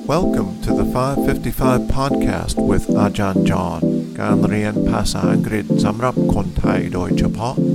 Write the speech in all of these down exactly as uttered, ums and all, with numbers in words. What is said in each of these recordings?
Welcome to the five fifty-five podcast with อาจารย์จอห์นการเรียนภาษาอังกฤษสำหรับคนไทยโดยเฉพาะ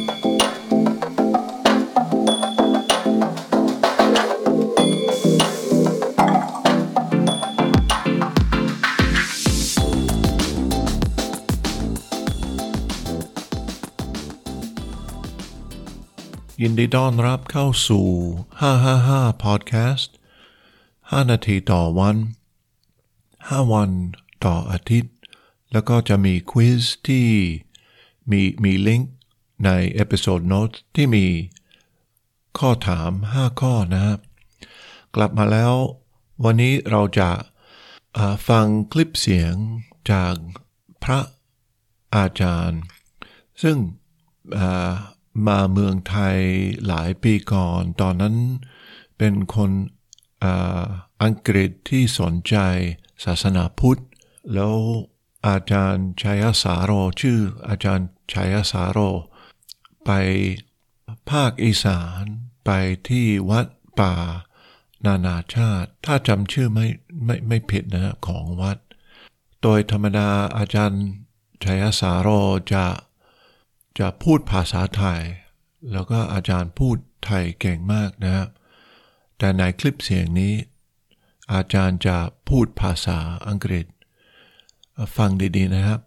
ยินดีต้อนรับเข้าสู่ห้าห้าห้า podcast ห้านาทีต่อวันห้าวันต่ออาทิตย์แล้วก็จะมีควิซที่มีมีลิงก์ในเอพิโซดโน้ตที่มีข้อถามห้าข้อนะครับกลับมาแล้ววันนี้เราจะฟังคลิปเสียงจากพระอาจารย์ซึ่งมาเมืองไทยหลายปีก่อนตอนนั้นเป็นคนอังกฤษที่สนใจศาสนาพุทธแล้วอาจารย์ชัยสาโรชื่ออาจารย์ชัยสาโรไปภาคอีสานไปที่วัดป่านานาชาติถ้าจำชื่อไม่ไม่ไม่ผิดนะของวัดโดยธรรมดาอาจารย์ชัยสาโรจะจะพูดภาษาไทยแล้วก็อาจารย์พูดไทยเก่งมากนะครับแต่ในคลิปเสียงนี้อาจารย์จะพูดภาษาอังกฤษฟังดีๆนะครับ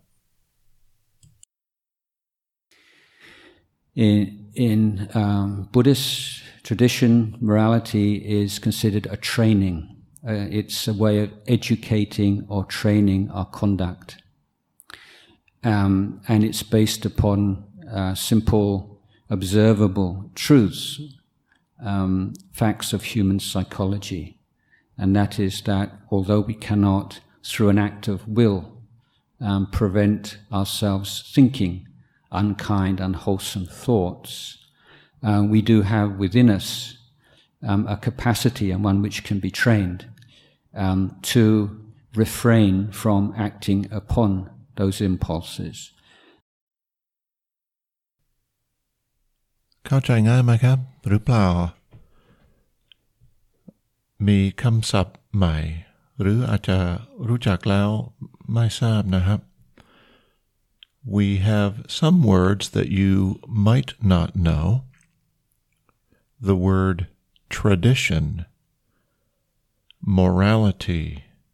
In in um, Buddhist tradition, morality is considered a training. Uh, it's a way of educating or training our conduct, um, and it's based upon uh, simple, observable truths, um, facts of human psychology, and that is that although we cannot, through an act of will, um, prevent ourselves thinking unkind, unwholesome thoughts, uh, we do have within us um, a capacity and one which can be trained um, to refrain from acting upon those impulses. เข้าใจง่ายไหมครับหรือเปล่ามีคำศัพท์ใหม่หรืออาจจะรู้จักแล้วไม่ทราบนะครับ We have some words that you might not know. The word tradition, morality,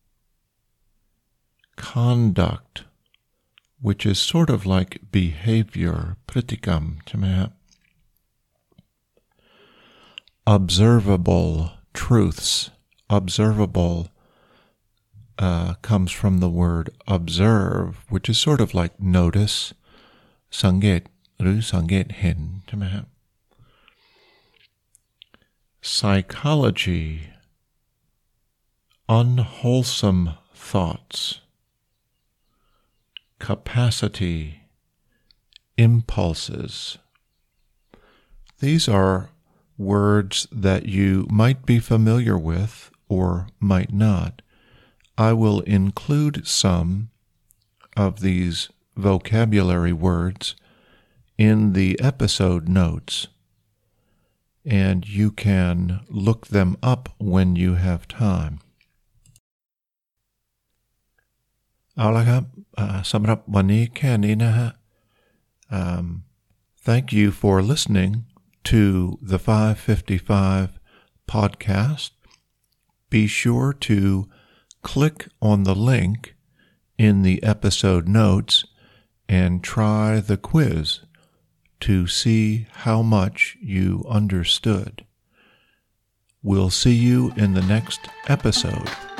conduct, which is sort of like behavior, pratikam, ใช่ไหมครับ Observable truths, observable Uh, comes from the word observe, which is sort of like notice, สังเกตหรือสังเกตเห็นใช่ไหมครับ Psychology, unwholesome thoughts, capacity, impulses. These are words that you might be familiar with or might not.I will include some of these vocabulary words in the episode notes, and you can look them up when you have time. เอาละครับสำหรับวันนี้แค่นี้นะฮะ um, Thank you for listening to the five fifty-five podcast. Be sure to click on the link in the episode notes and try the quiz to see how much you understood. We'll see you in the next episode.